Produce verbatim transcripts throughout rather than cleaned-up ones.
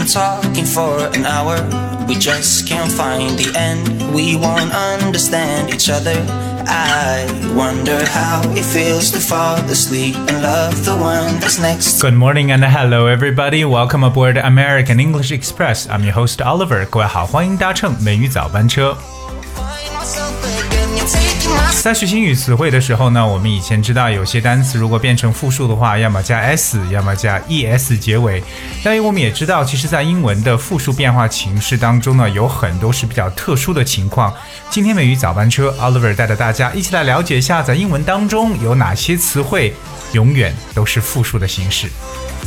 been talking for an hour. We just can't find the end. We won't understand each other. I wonder how it feels to fall asleep and love the one that's next. Good morning and hello everybody. Welcome aboard American English Express. I'm your host Oliver. 各位好，欢迎搭乘美语早班车。在学习英语词汇的时候呢，我们以前知道有些单词如果变成复数的话，要么加 s， 要么加 es 结尾。但我们也知道，其实在英文的复数变化形式当中呢，有很多是比较特殊的情况。今天美语早班车 Oliver 带着大家一起来了解一下，在英文当中有哪些词汇永远都是复数的形式。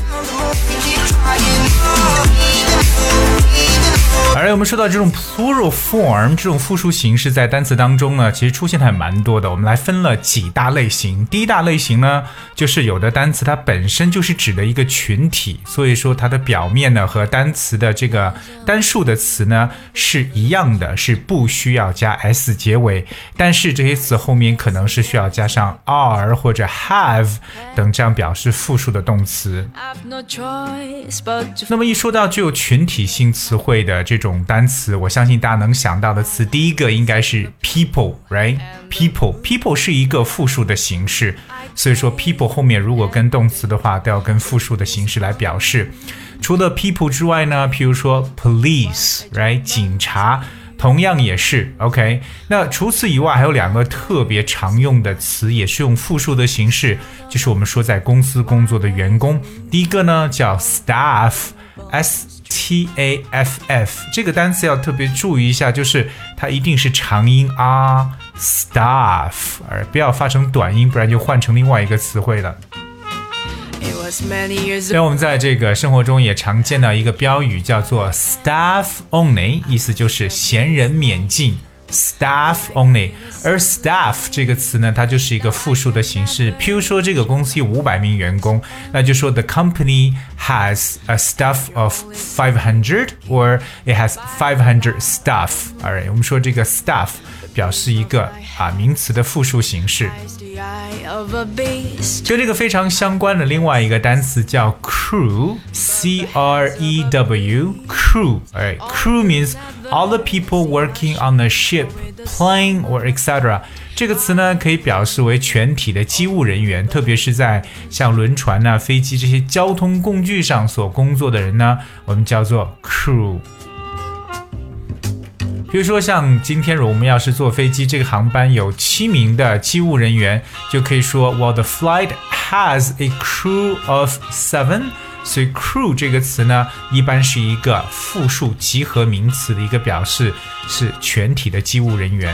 而我们说到这种 plural form 这种复数形式在单词当中呢，其实出现还蛮多的。我们来分了几大类型。第一大类型呢，就是有的单词它本身就是指的一个群体，所以说它的表面呢和单词的这个单数的词呢是一样的，是不需要加 s 结尾，但是这些词后面可能是需要加上 are 或者 have 等这样表示复数的动词。那么一说到具有群体性词汇的这种单词，我相信大家能想到的词，第一个应该是 people, right? People, people 是一个复数的形式，所以说 people 后面如果跟动词的话，都要跟复数的形式来表示。除了 people 之外呢，譬如说 police, right? 警察同样也是 OK。 那除此以外还有两个特别常用的词也是用复数的形式，就是我们说在公司工作的员工。第一个呢叫 staff, S T A F F， 这个单词要特别注意一下，就是它一定是长音啊 staff， 而不要发成短音，不然就换成另外一个词汇了。因为我们在这个生活中也常见到一个标语叫做 staff only， 意思就是闲人免进staff only， 而 staff 这个词呢，它就是一个复数的形式。譬如说这个公司有五百名员工，那就说 the company has a staff of five hundred or it has five hundred staff。 Alright， 我们说这个 staff 表示一个啊名词的复数形式。跟这个非常相关的另外一个单词叫 crew, C R E W, crew. Alright, crew means all the people working on a ship, plane or et cetera. 这个词呢可以表示为全体的机务人员，特别是在像轮船啊、飞机这些交通工具上所工作的人呢，我们叫做 crew。比如说像今天我们要是坐飞机，这个航班有七名的机务人员，就可以说 Well, the flight has a crew of seven。 所以 crew 这个词呢一般是一个复数集合名词的一个表示，是全体的机务人员。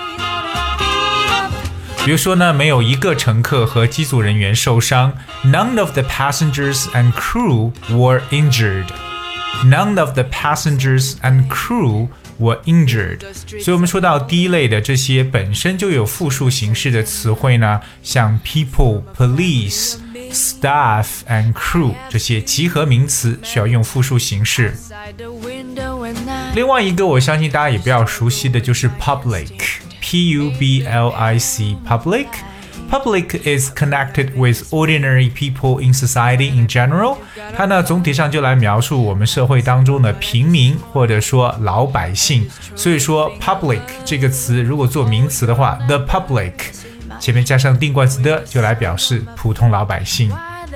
比如说呢，没有一个乘客和机组人员受伤。 None of the passengers and crew were injured. None of the passengers and crew were injured。 所以我们说到第一类的这些本身就有复数形式的词汇呢，像 people, police, staff and crew 这些集合名词需要用复数形式。另外一个我相信大家也比较熟悉的就是 public, P U B L I C, public。Public is connected with ordinary people in society in general。 它呢总体上就来描述我们社会当中的平民或者说老百姓。所以说 public 这个词如果做名词的话， the public 前面加上定冠词的就来表示普通老百姓。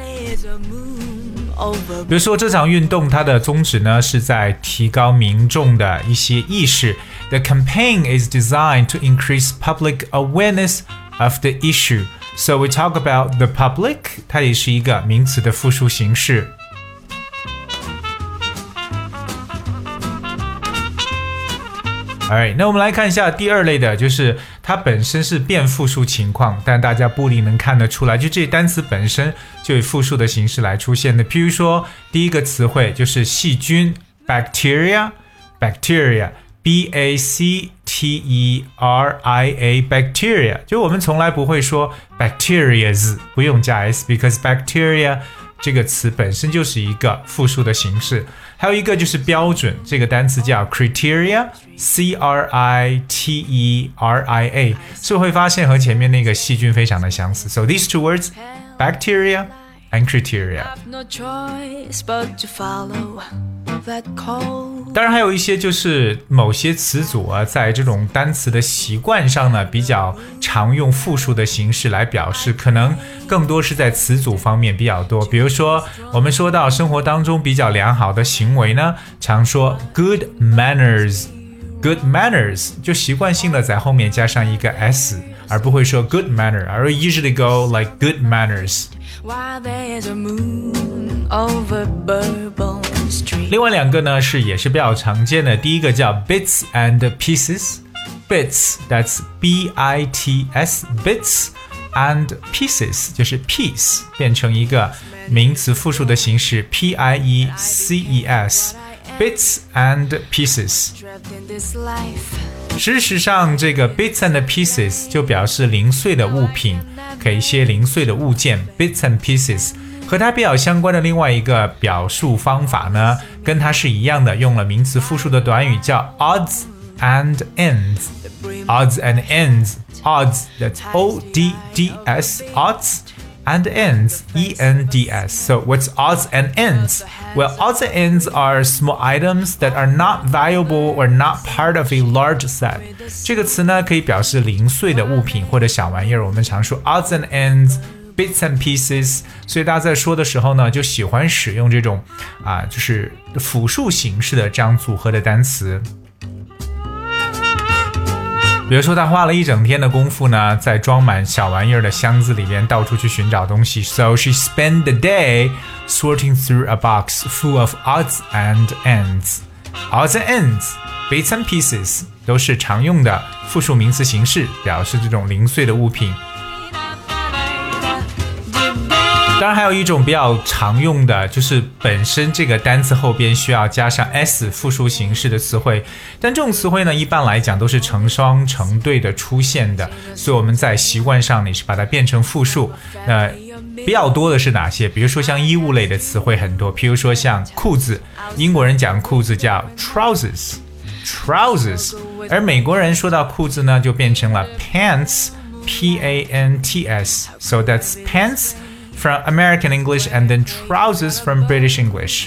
比如说这场运动它的宗旨呢是在提高民众的一些意识。 The campaign is designed to increase public awareness of the issue. So we talk about the public， 它也是一个名词的复数形式。Alright， 那我们来看一下第二类的，就是它本身是变复数情况，但大家不一定能看得出来，就这单词本身就以复数的形式来出现的。譬如说第一个词汇就是细菌 bacteria, bacteria B A C T E R I A bacteria， 就我们从来不会说 bacterias， 不用加 s because bacteria 这个词本身就是一个复数的形式。还有一个就是标准，这个单词叫 criteria, C R I T E R I A， 所以会发现和前面那个细菌非常的相似。 So these two words, bacteria and criteria。 no choice but to follow 当然还有一些就是某些词组啊，在这种单词的习惯上呢，比较常用复数的形式来表示，可能更多是在词组方面比较多。比如说我们说到生活当中比较良好的行为呢，常说 good manners good manners 就习惯性的在后面加上一个 s， 而不会说 good manner， 而 usually go like good manners。 另外两个呢是也是比较常见的，第一个叫 bits and pieces bits that's B I T S bits and pieces 就是 piece 变成一个名词复数的形式 P I E C E S bits and pieces。 事实上这个 bits and pieces 就表示零碎的物品，给一些零碎的物件 bits and pieces。 和它比较相关的另外一个表述方法呢，跟它是一样的，用了名词复数的短语叫 odds and ends odds and ends odds that's O D D S odds and ends E N D S. So what's odds and ends? Well, odds and ends are small items that are not valuable or not part of a large set. 这个词呢可以表示零碎的物品或者小玩意儿，我们常说 odds and ends bits and pieces， 所以大家在说的时候呢就喜欢使用这种啊，就是复数形式的这样组合的单词。比如说他花了一整天的功夫呢，在装满小玩意儿的箱子里边到处去寻找东西。 So she spent the day sorting through a box full of odds and ends. Odds and ends, bits and pieces 都是常用的复数名词形式，表示这种零碎的物品。当然还有一种比较常用的，就是本身这个单词后边需要加上 s 复数形式的词汇，但这种词汇呢一般来讲都是成双成对的出现的，所以我们在习惯上你是把它变成复数。那比较多的是哪些？比如说像衣物类的词汇很多，比如说像裤子，英国人讲裤子叫 trousers trousers， 而美国人说到裤子呢就变成了 pants P A N T S. So that's pants from American English and then trousers from British English.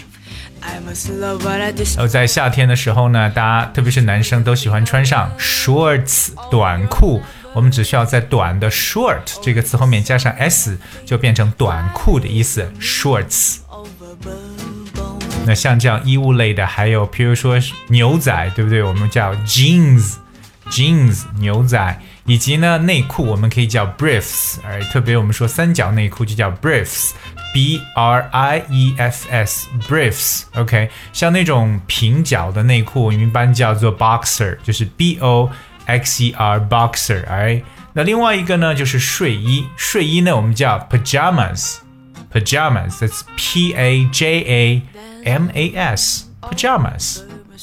而在夏天的时候呢，大家特别是男生都喜欢穿上 shorts 短裤，我们只需要在短的 short 这个词后面加上 s 就变成短裤的意思 shorts。 那像这样衣物类的还有比如说牛仔，对不对？我们叫 jeans jeans 牛仔，以及呢内裤我们可以叫 briefs， 而特别我们说三角内裤就叫 briefs B R I E F S briefs OK， 像那种平角的内裤我们一般叫做 boxer， 就是 B O X E R boxer right？ 那另外一个呢就是睡衣，睡衣呢我们叫 pajamas pajamas that's P A J A M A S pajamas。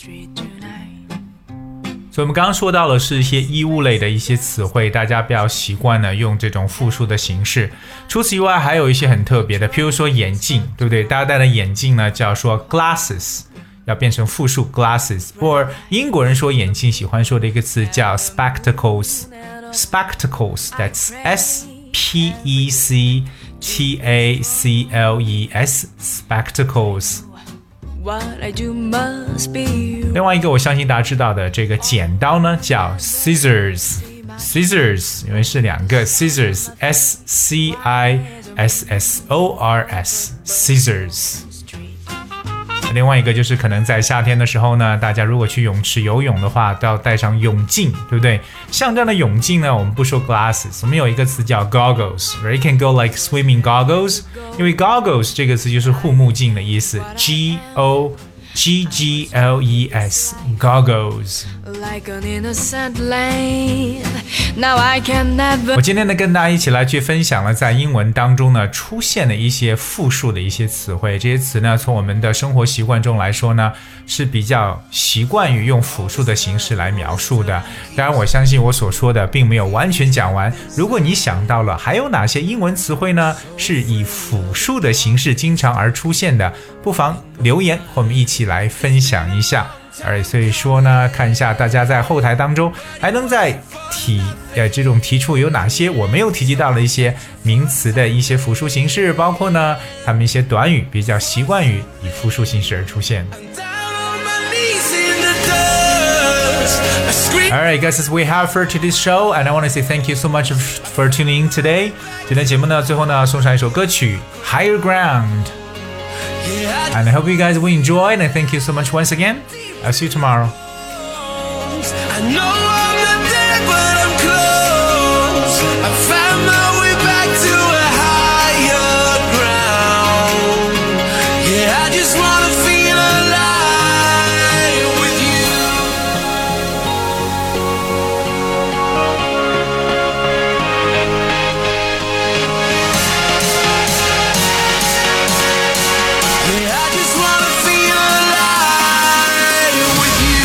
所以我们刚刚说到的是一些衣物类的一些词汇，大家比较习惯呢用这种复数的形式。除此以外还有一些很特别的，譬如说眼镜，对不对？大家戴的眼镜呢叫说 glasses， 要变成复数 glasses， 或英国人说眼镜喜欢说的一个词叫 spectacles spectacles that's S P E C T A C L E S spectacles。另外一个我相信大家知道的这个剪刀呢叫 scissors scissors， 因为是两个 scissors S C I S S O R S scissors。 另外一个就是可能在夏天的时候呢，大家如果去泳池游泳的话都要戴上泳镜，对不对？像这样的泳镜呢我们不说 glasses， 我们有一个词叫 goggles right? You can go like swimming goggles， 因为 goggles 这个词就是护目镜的意思 G O G G L E S goggles。 我今天呢跟大家一起来去分享了在英文当中呢出现的一些复数的一些词汇，这些词呢从我们的生活习惯中来说呢是比较习惯于用复数的形式来描述的。当然我相信我所说的并没有完全讲完，如果你想到了还有哪些英文词汇呢是以复数的形式经常而出现的，不妨留言和我们一起来分享一下。而所以说呢，看一下大家在后台当中还能再提呃这种提出有哪些我没有提及到的一些名词的一些复数形式，包括呢他们一些短语比较习惯于以复数形式而出现。 Alright, guys, as we have for today's show, and I want to say thank you so much for tuning in today. 今天节目呢，最后呢，送上一首歌曲 Higher Ground。And I hope you guys will enjoy, and I thank you so much once again. I'll see you tomorrow. I know I'm not there, but I'm close. I found my way back to a higher ground. Yeah, I just wanna feel alive with you. Yeah, I just wanna feel alive with you.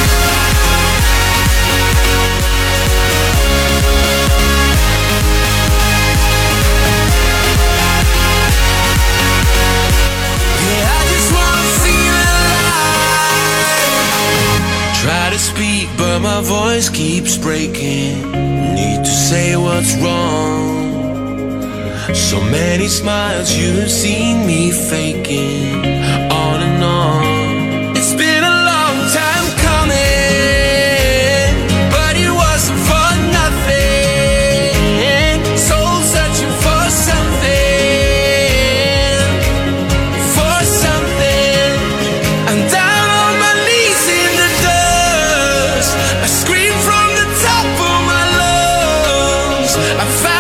Try to speak, but my voice keeps breaking. Need to say what's wrong. So many smiles you've seen me faking, on and on. It's been a long time coming, but it wasn't for nothing. Soul searching for something, for something. I'm down on my knees in the dust. I scream from the top of my lungs. I found